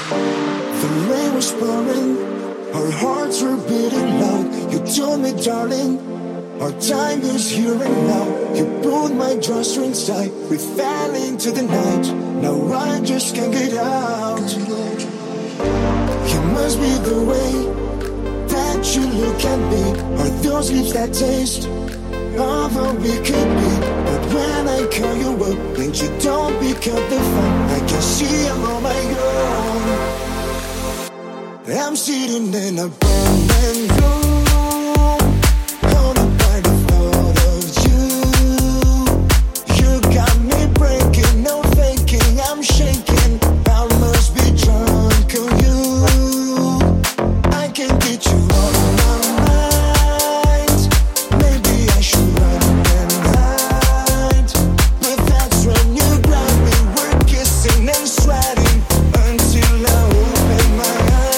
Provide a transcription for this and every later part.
The rain was pouring, our hearts were beating loud. You told me, darling, our time is here and now. You pulled my drawstrings tight, we fell into the night. Now I just can't get out. You must be the way that you look at me, or those lips that taste of all we could be. But when I call you up and you don't pick up the phone, I can see I'm on my own. I'm sitting in a burning room, haunted by the thought of you. You got me breaking, no faking, I'm shaking. I must be drunk on you. I can't get you off my mind. Maybe I should run and hide, but that's when you grab me. We're kissing and sweating until I open my eyes.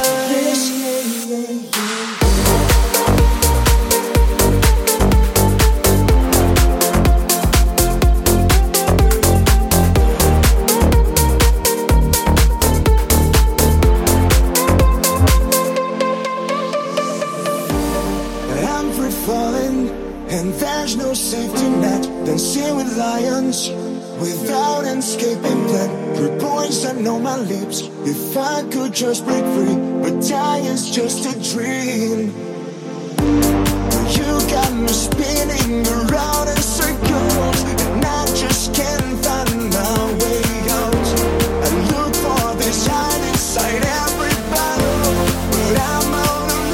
I'm free falling, and there's no safety net. Dancing with lions, without an escaping plan. Your poison on my lips, if I could just break free. But dying's just a dream. You got me spinning around in circles, and I just can't find my way out. I look for this hide inside every bottle, but I'm out of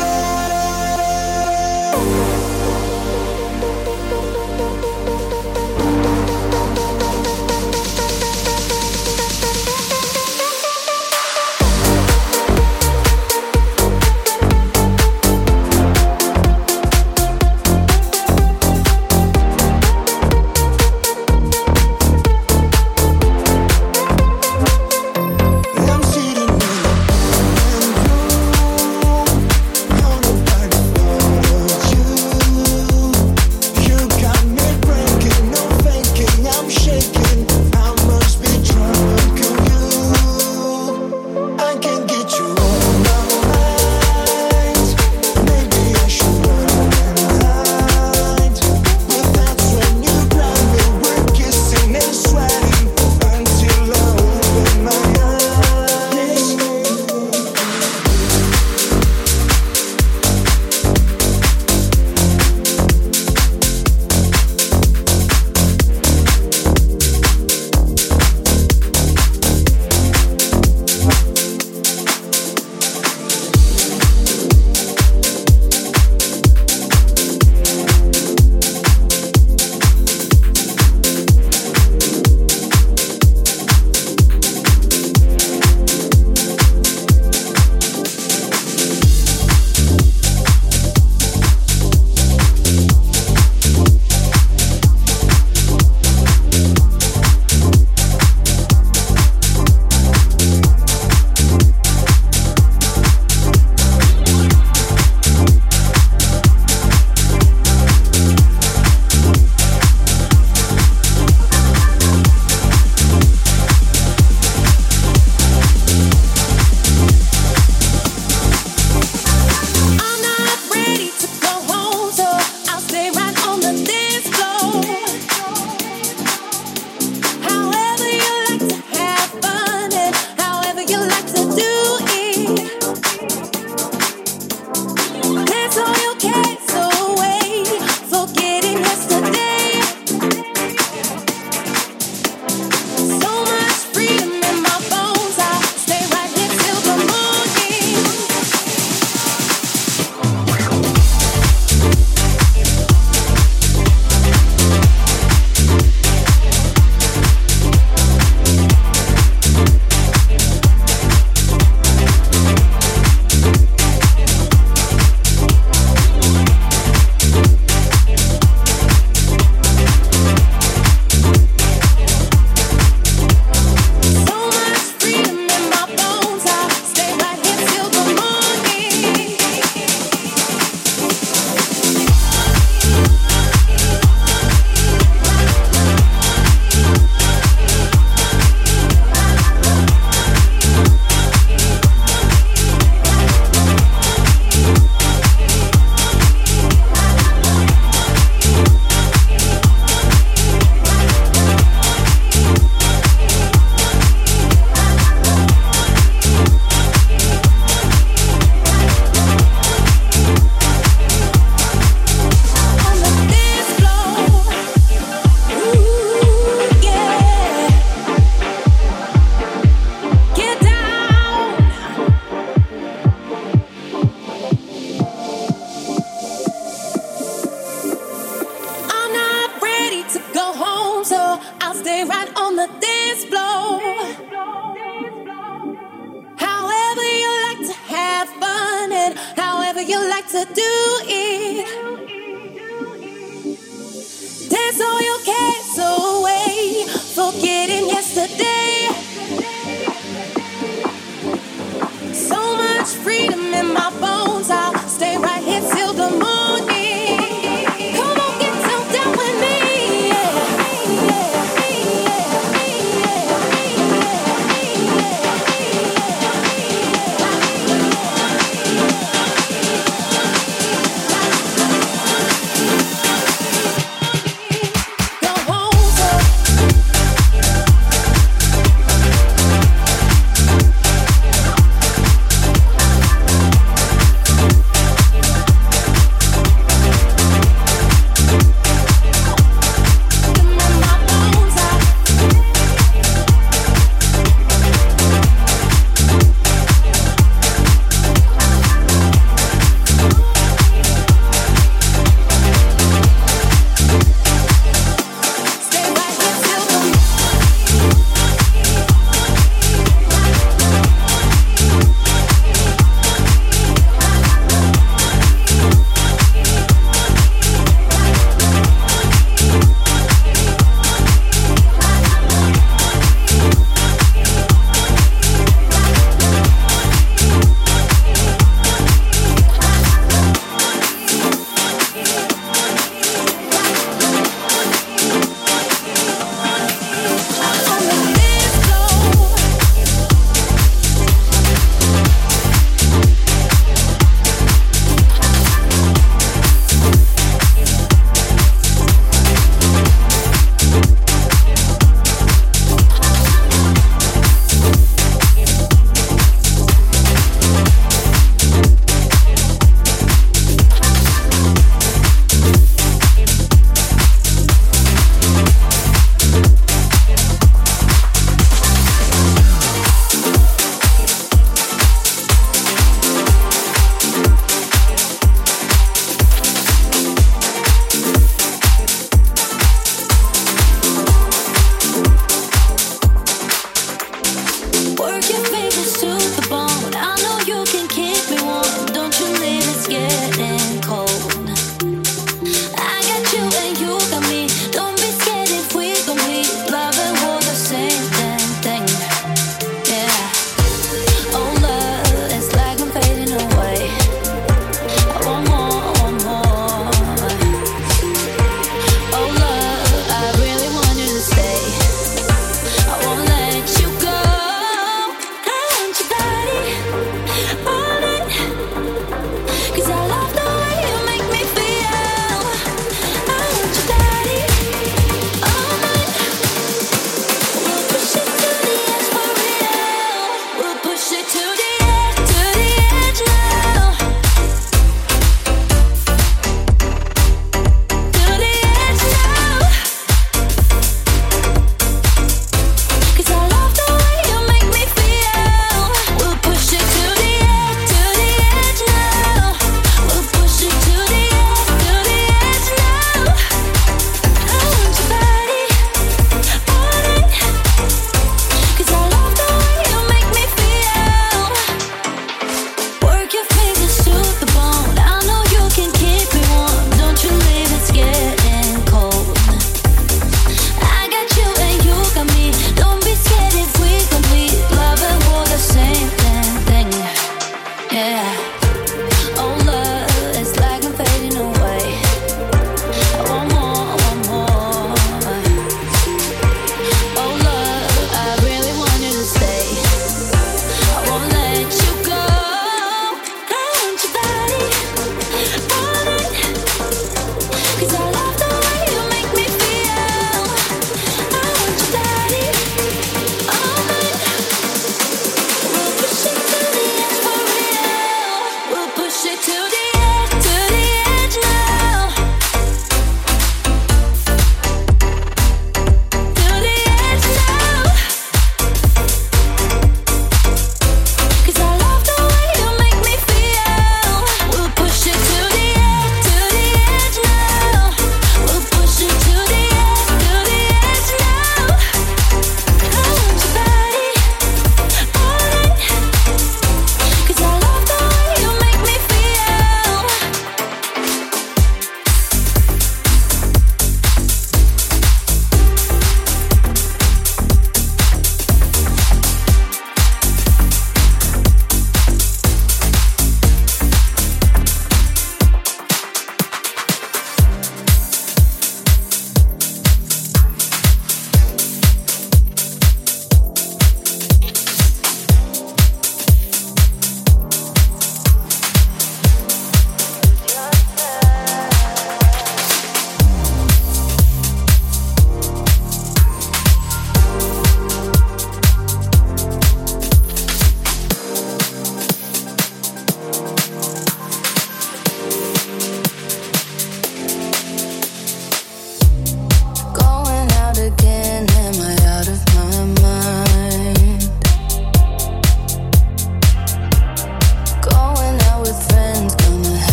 you like to do it. Dance all your cares away, forgetting yesterday. So much freedom in my bones, I'll stay right here till the morning. Come on, get down with me.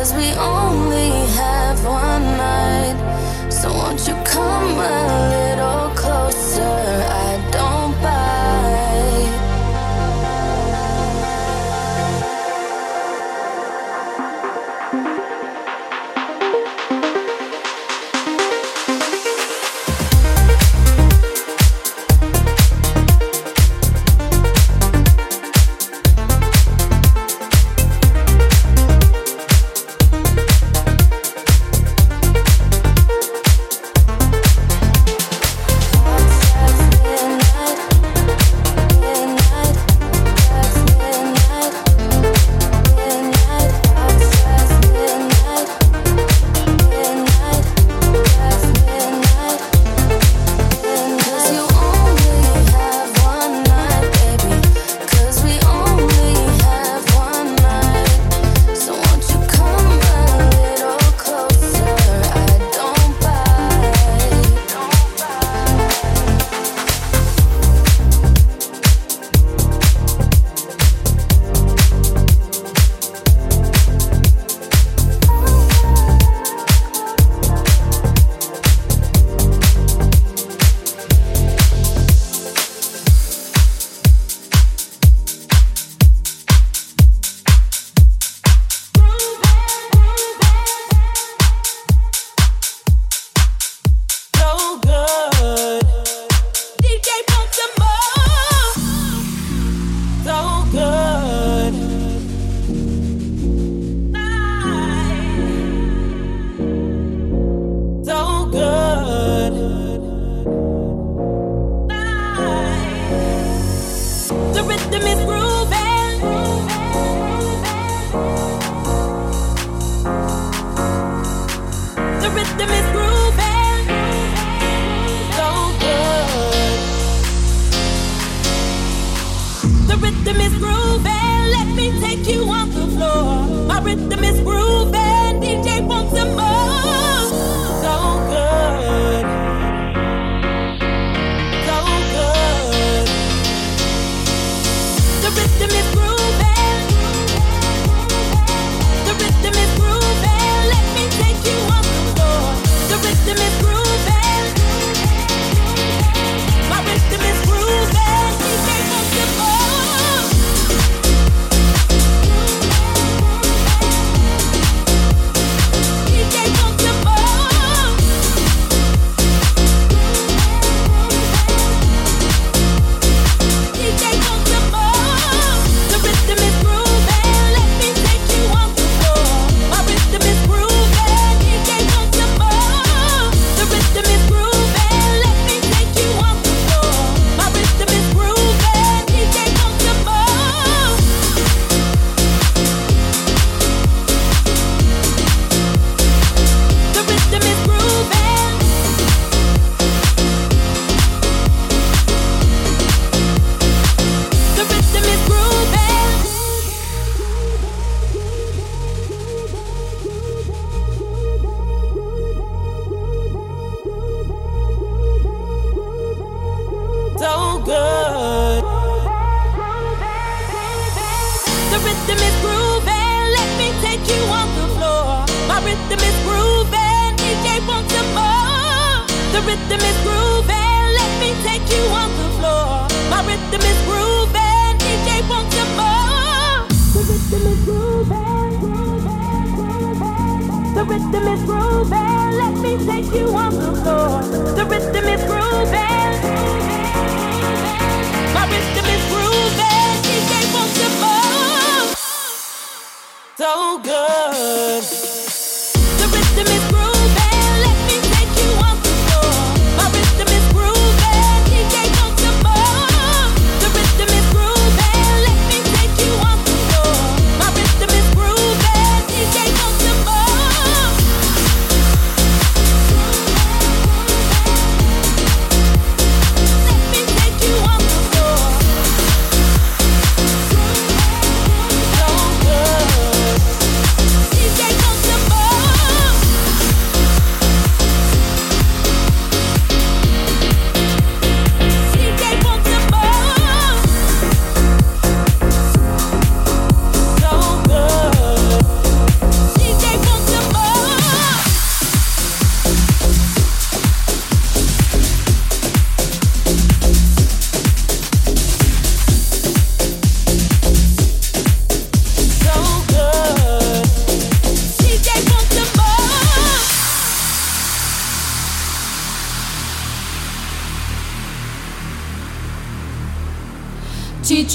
we only have one night. So won't you come a little closer? I don't bite.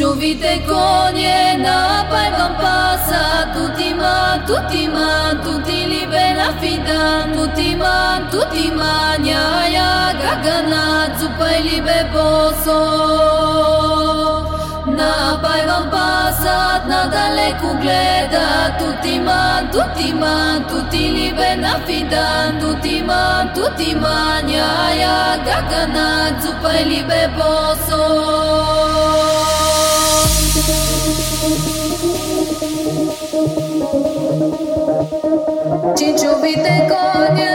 Ciccio vite conie na paivan passa tutti man, tutti li ben affidan, tutti man, ya gagana, zupai li be poso. Na paivan passa, na dalle cugleda, tutti man, tutti li ben affidan, tutti man, ya gagana, zupai li be poso. Ciccio vite conie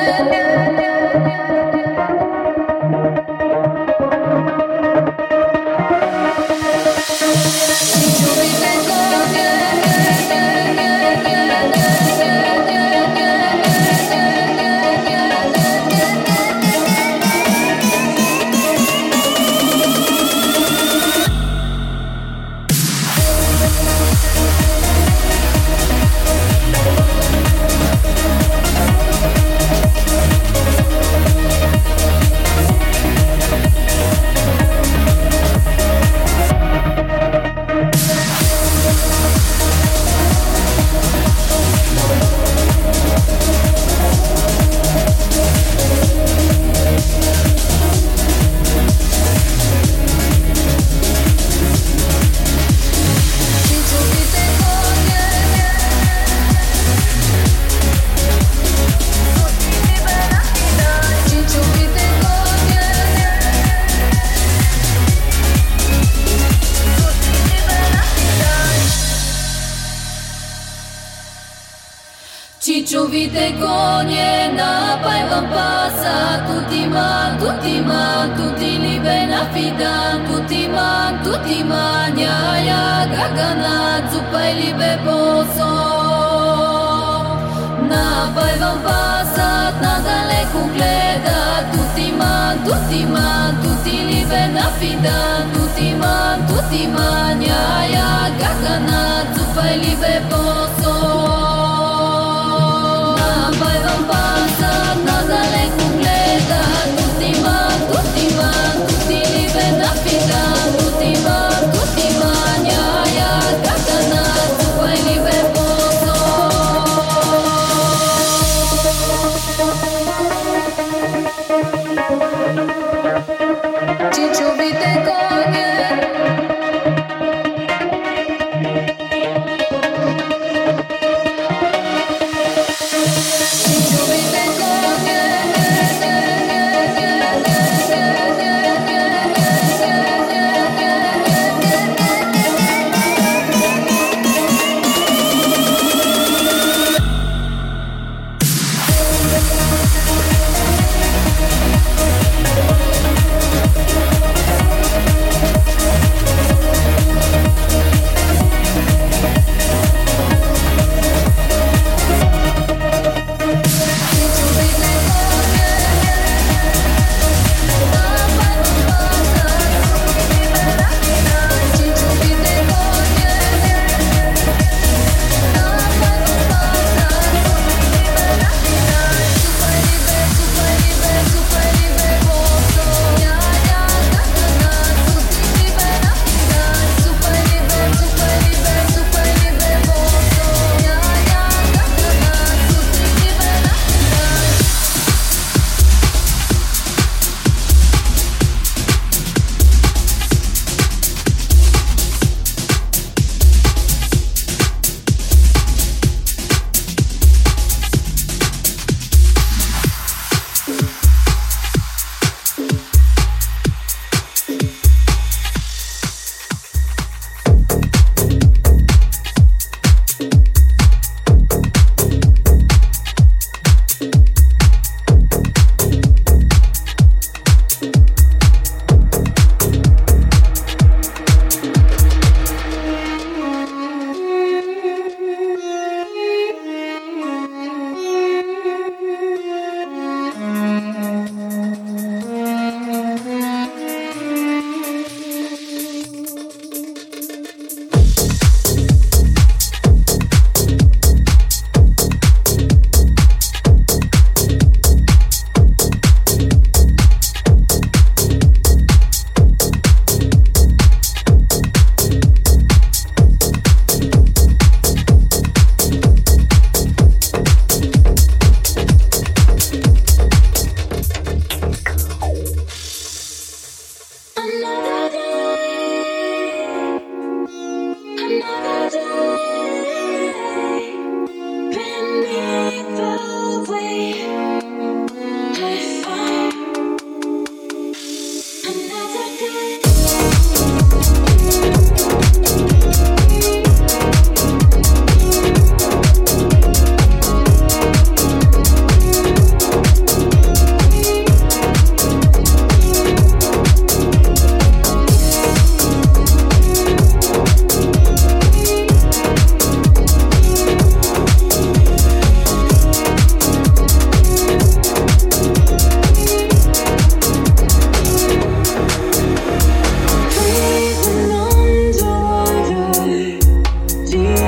Ciccio vite conie na paivan passa tutti man, tutti li ben affidan, tutti man, ya gagana, zupai li be poso. Na paivan passa, na dalle cugleda, tutti man, tutti li ben affidan, tutti man, ya gagana, zupai li be poso. Ciccio vite conie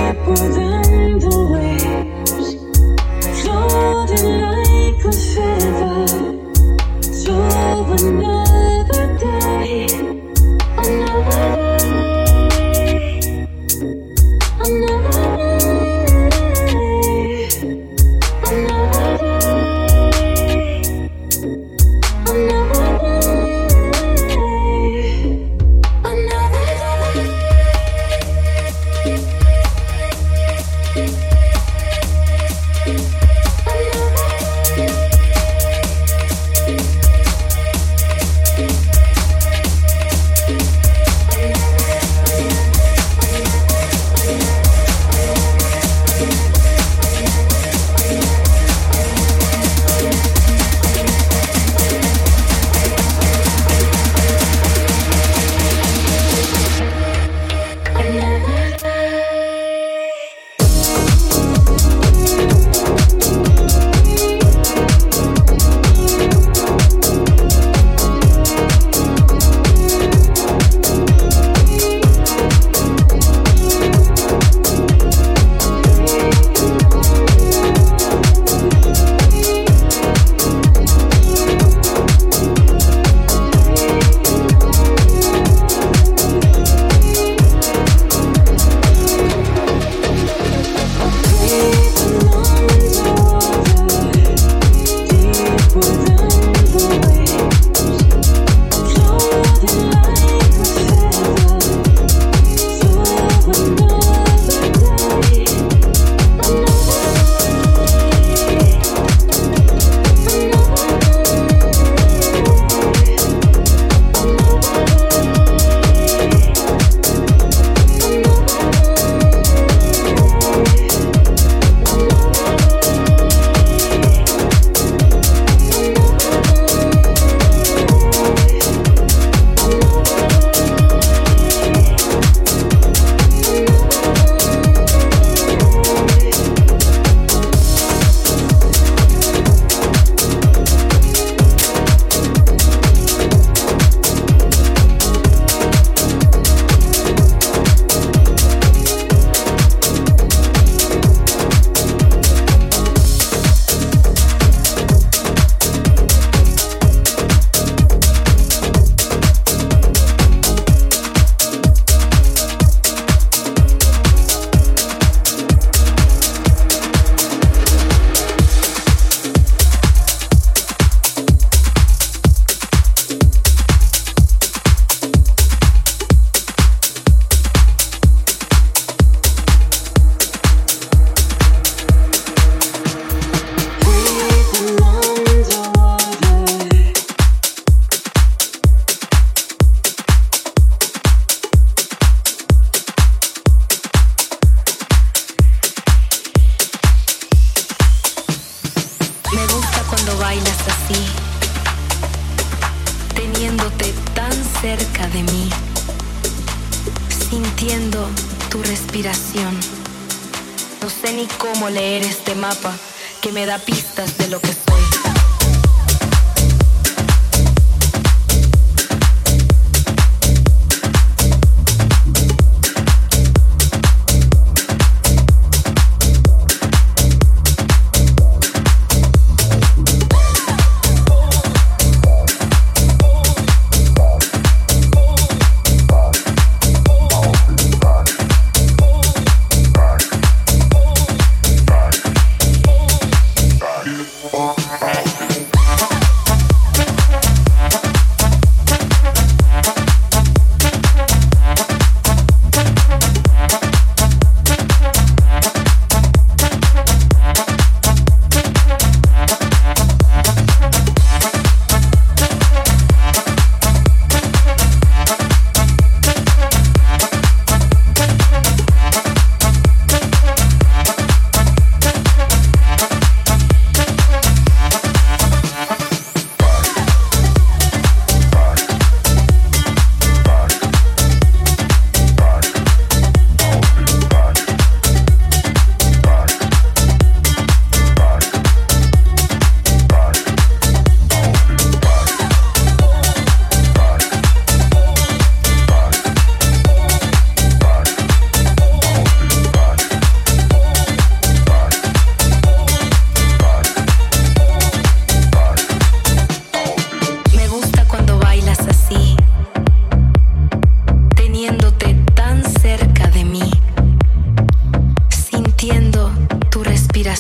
No sé ni cómo leer este mapa que me da pistas de lo que soy. Oh,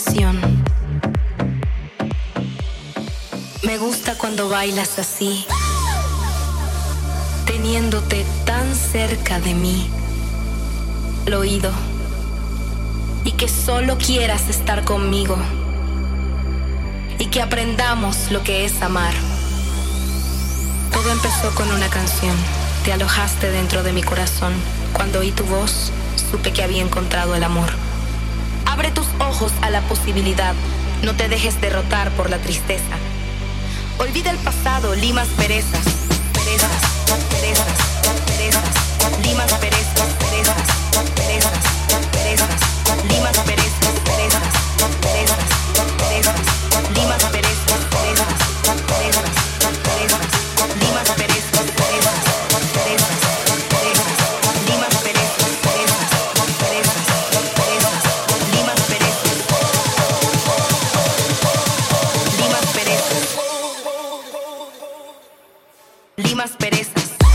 canción. Me gusta cuando bailas así, teniéndote tan cerca de mí, al oído, y que solo quieras estar conmigo, y que aprendamos lo que es amar. Todo empezó con una canción. Te alojaste dentro de mi corazón. Cuando oí tu voz, supe que había encontrado el amor. Abre tus ojos a la posibilidad. No te dejes derrotar por la tristeza. Olvida el pasado, limas perezas. Perezas, perezas, perezas. Limas perezas, perezas, perezas, perezas. Limas perezas, perezas, perezas, perezas. Limas perezas, perezas, perezas, perezas. Limas perezas, perezas, perezas, perezas. Limas perezas, perezas, perezas, perezas. Limas perezas. Limas perezas. Limas perezas.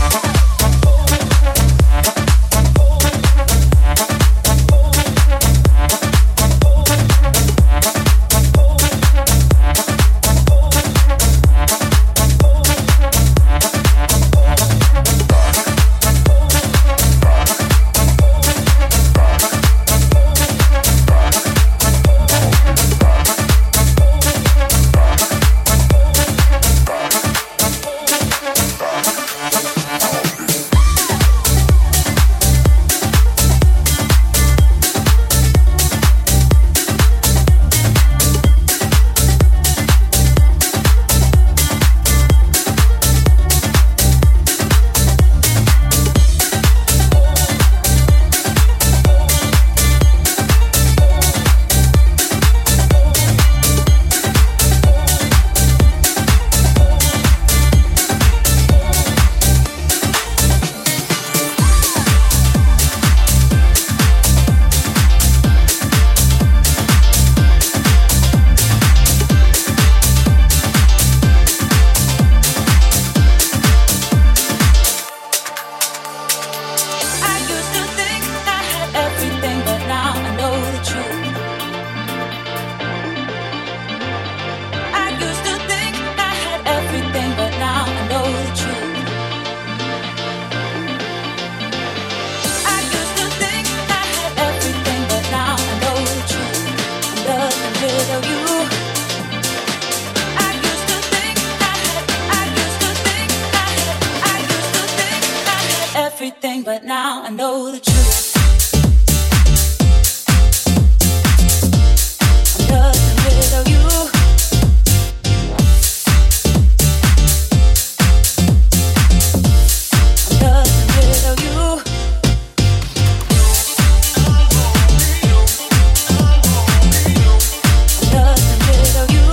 But now I know the truth. I'm nothing without you. I'm nothing without you. I'm nothing without you.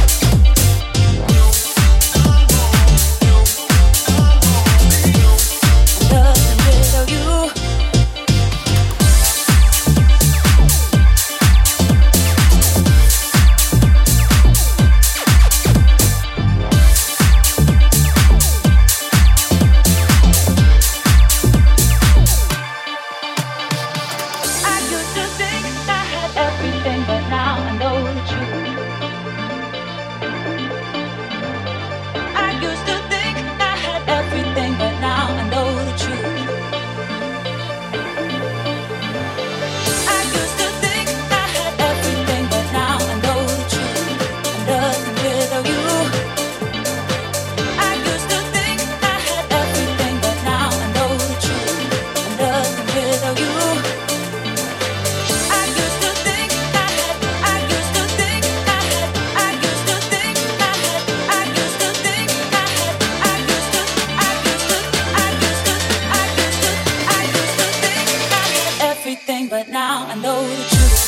But now I know the truth.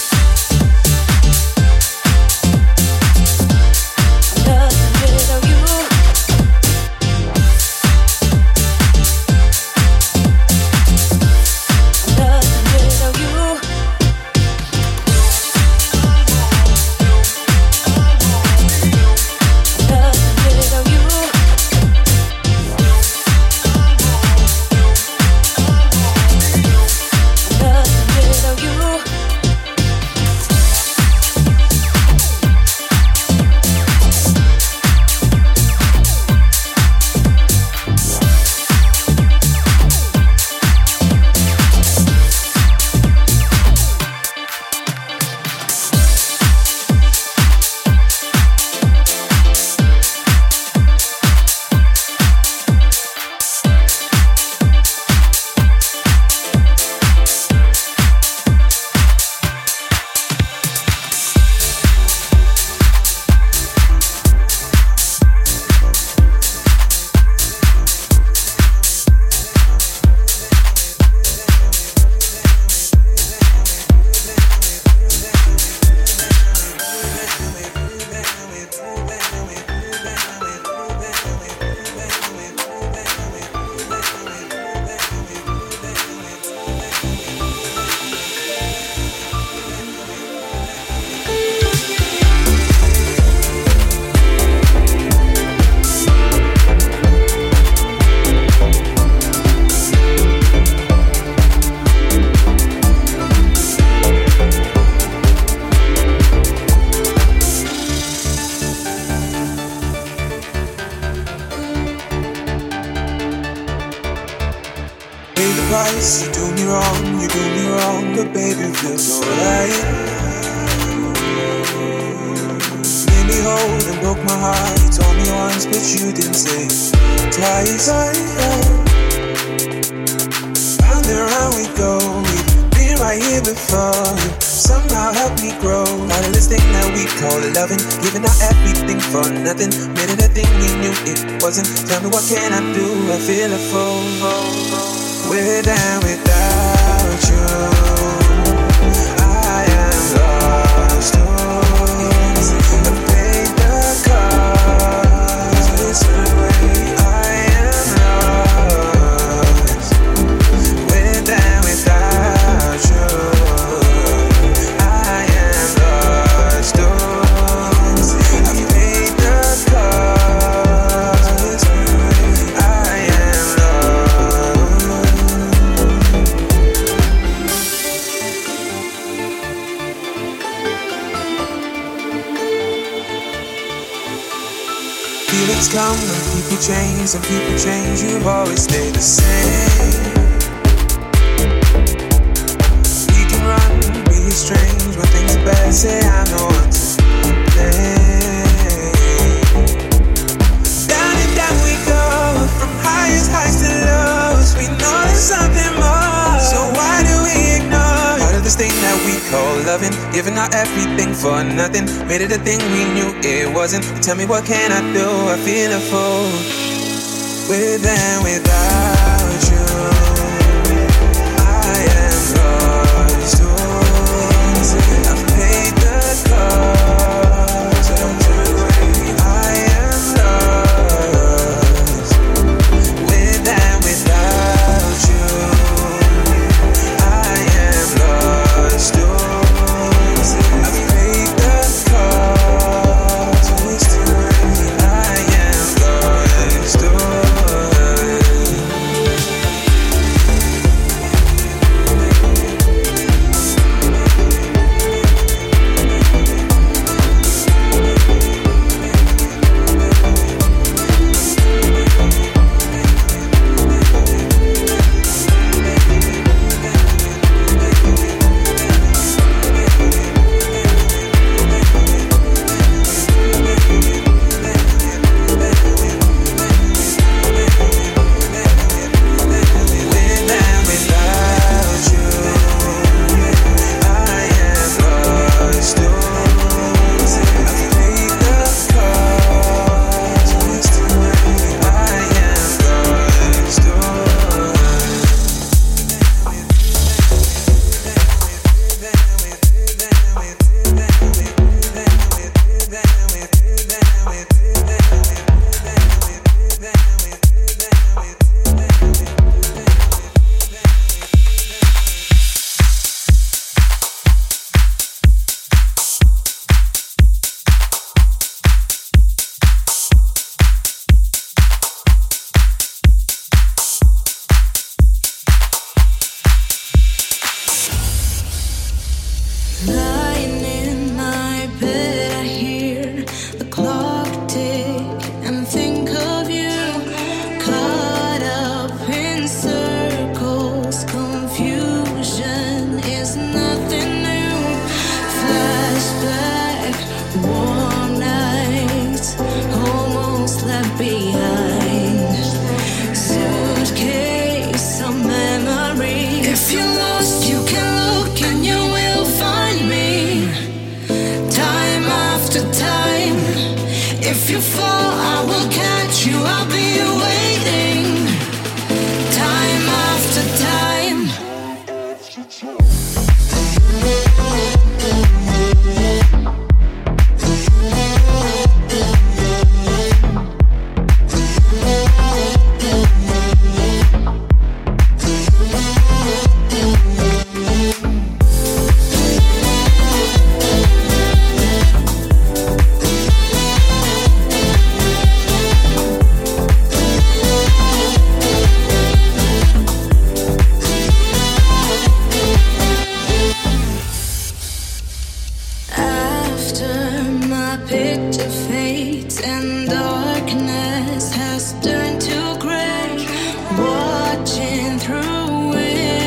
I'm nothing without you. I'm nothing without you. I'm nothing without you. Nothing without you. You do me wrong, but baby it feels so right. Made me hold and broke my heart. You told me once, but you didn't say twice. Round and round we go. We've been right here before. You somehow helped me grow. Out of this thing that we call loving, giving out everything for nothing. Made it a thing we knew it wasn't. Tell me what can I do? I feel a fool. We're down without you. I am lost. I paid the cost. Listen, I am lost. We're down without you. I am lost. I paid the cost. I am lost. Feelings come and people change, and people change. You've always stayed the same. We can run, be strange when things are bad. Say I'm the one to blame. Down and down we go, from highest heights to lows. We know there's something more, so why do we ignore part of this thing that we call loving? Giving our everything for nothing. Made it a thing we knew it wasn't. Tell me what can I do? I feel a fool. With and without you, I am lost. I've paid the cost. I am lost. With and without you, I am lost. I've paid the cost. I am lost. Watching through it.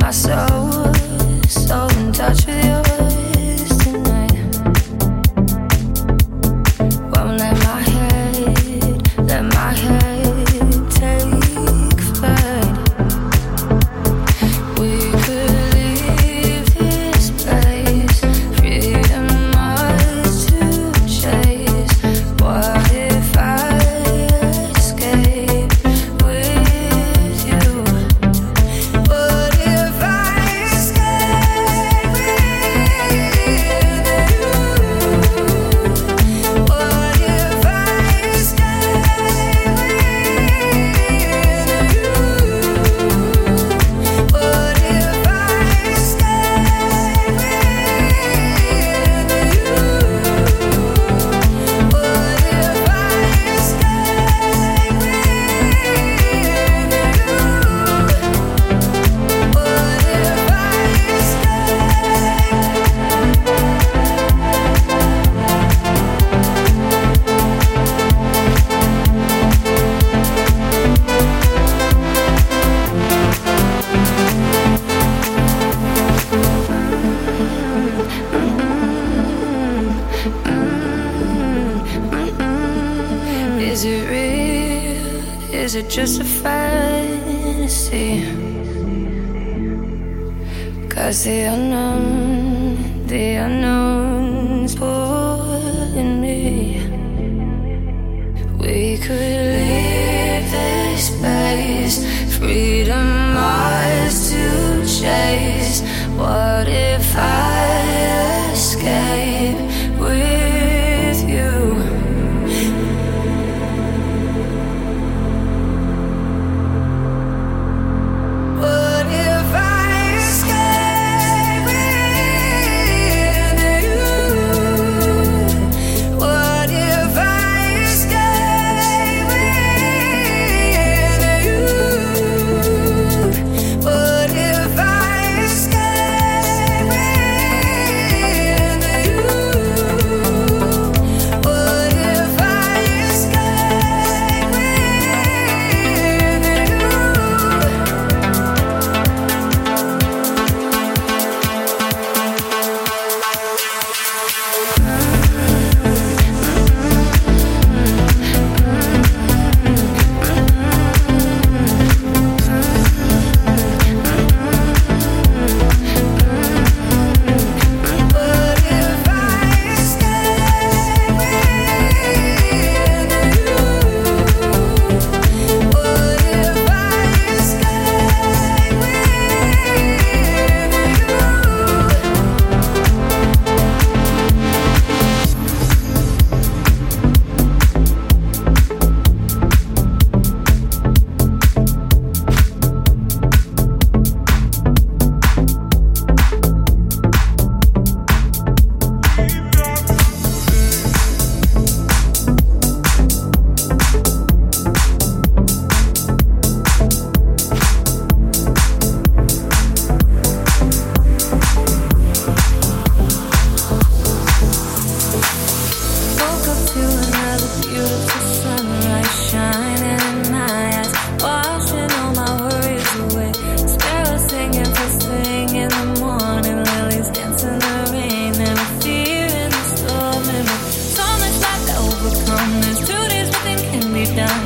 my soul, so in touch with yours tonight. Won't let my head take flight. We could leave this place, freedom ours to chase. What if I escape with you? What if I escape with you? What if I escape with you? What if I escape with you? What if I Is it real? Is it just a fantasy? 'Cause the unknown's pulling me. We could leave this space, freedom ours to chase. What if I escape with you? What if I escape with you? What if I escape with you? What if I escape with you? What if I escape with you? Woke up to another beautiful sunrise shining in my eyes, washing all my worries away. Sparrows singing first thing in the morning, lilies dancing in the rain, and fear in the storm. And with so much life to overcome, there's 2 days nothing can be done.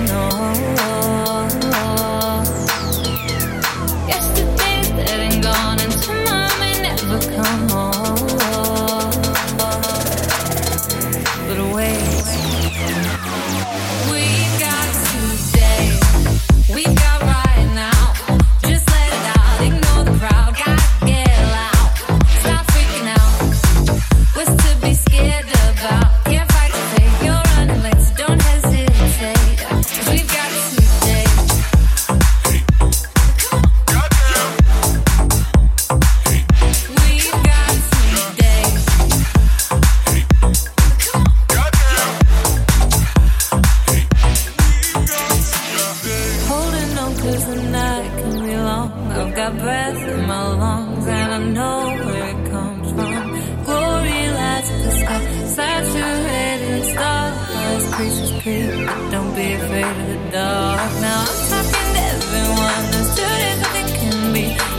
Yesterday's dead and gone, and tomorrow may never come home. But wait, we got today, we got right now. Just let it out, ignore the crowd, gotta get loud. Stop freaking out, what's to be scared about? Can't fight the fate, you're running late, so don't hesitate. 'Cause we've got today. We've got today. Holding on 'cause the night can be long. I've got breath in my lungs and I know where it comes from. Glory lights up the sky, saturated stars, creatures creep, but don't be afraid of the dark. Now I'm talking to everyone, there's 2 days nothing can be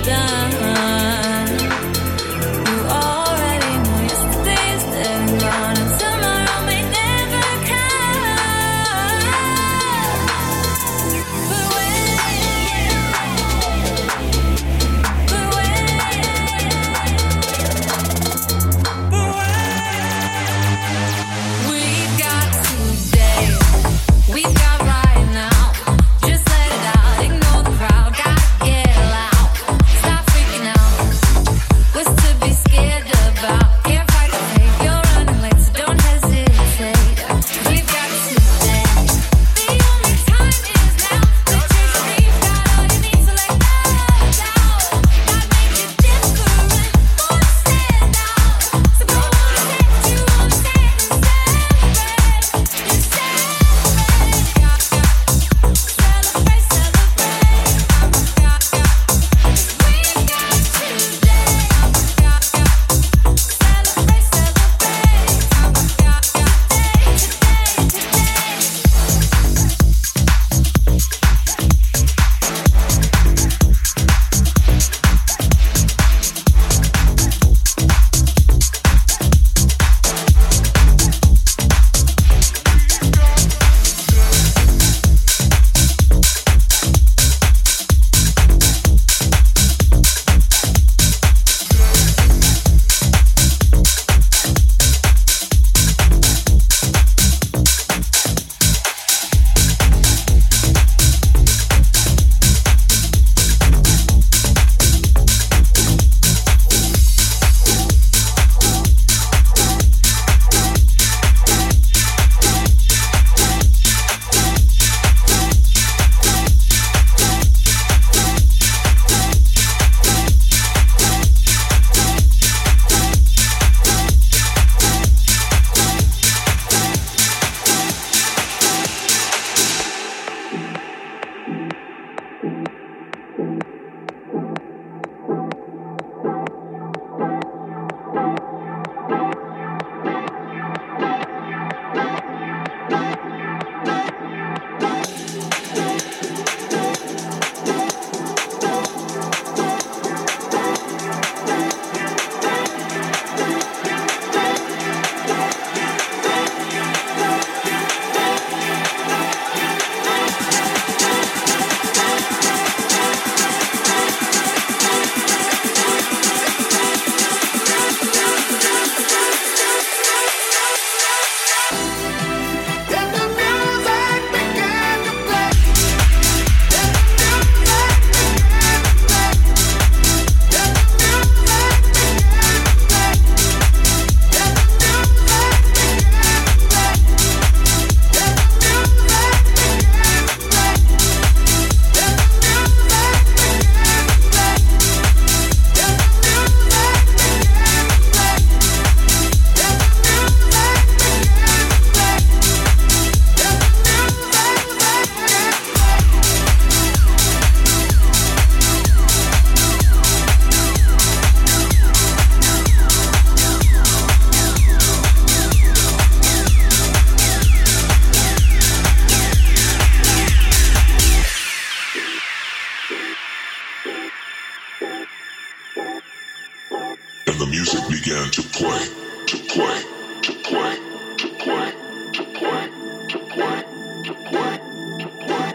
And the music began to play, to play, to play, to play, to play, to play, to play, to play.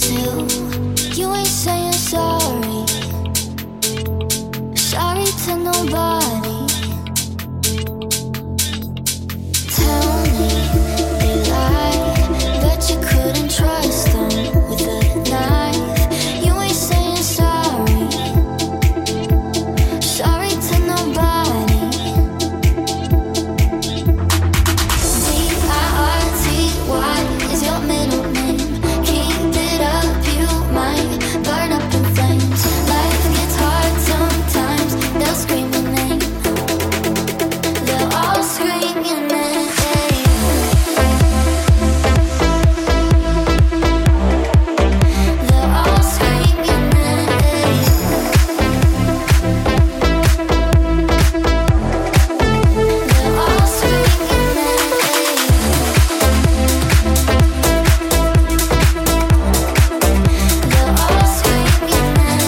still, you ain't saying sorry. Sorry to nobody. Tell me they lie, but you couldn't trust them with a knife. You ain't saying sorry. Sorry to nobody. D-I-R-T-Y is your middle name. Keep it up, you might burn up in flames. Life gets hard sometimes. They'll scream your name. They'll all scream your name. They'll all scream your name. They'll all scream your name. They'll all scream your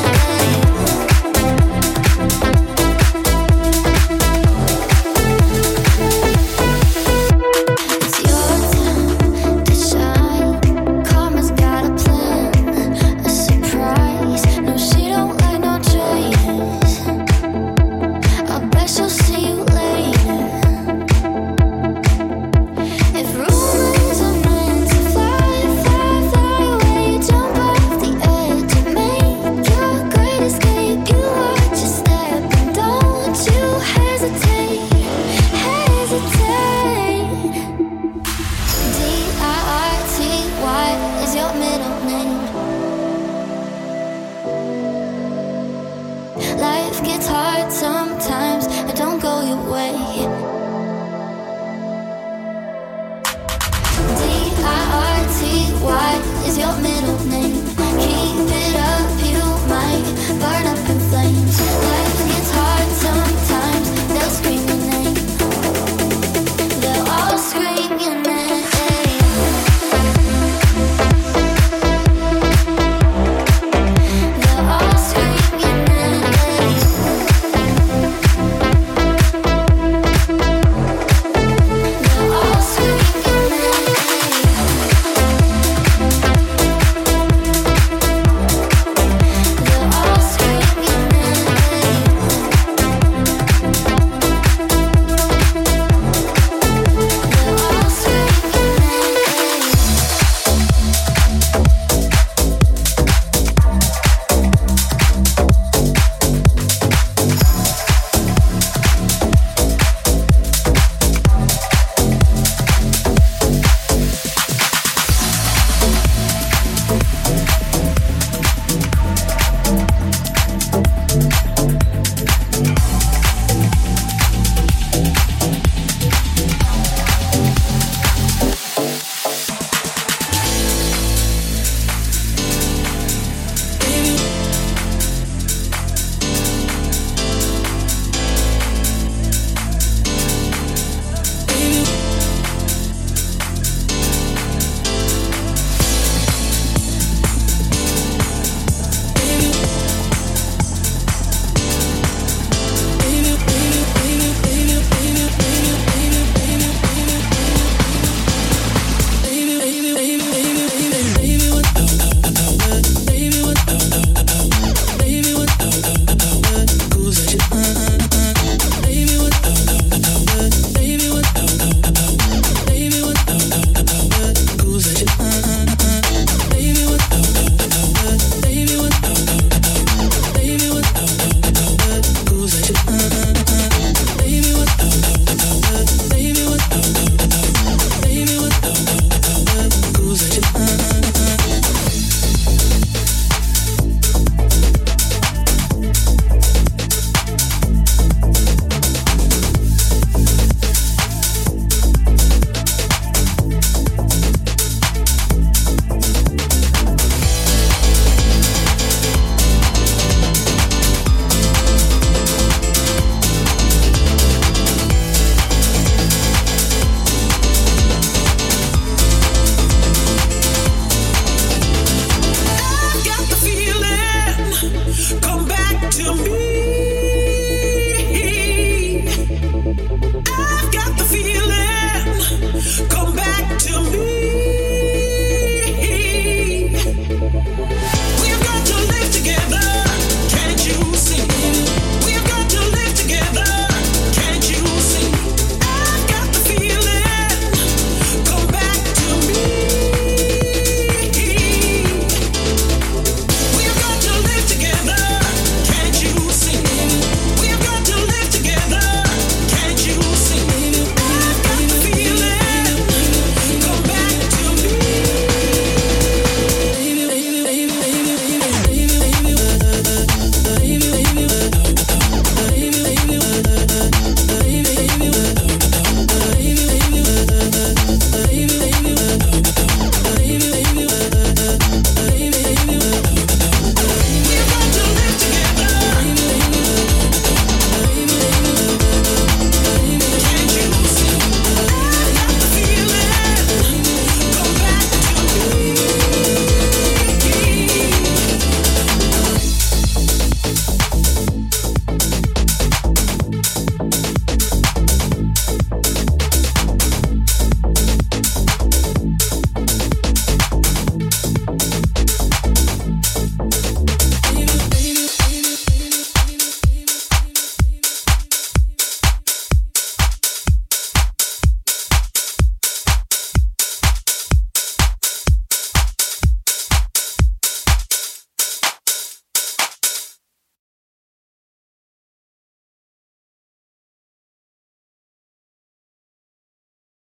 It's your time to shine. Karma's got a plan, a surprise. No, she don't like no choice. I bet she'll see you later. If rumors are meant to fly, fly, fly away, jump off the edge and make your great escape. You watch your step and don't you hesitate, hesitate. D-I-R-T-Y is your middle name. Life gets hard sometimes, it don't go your way. D-I-R-T-Y is your middle name.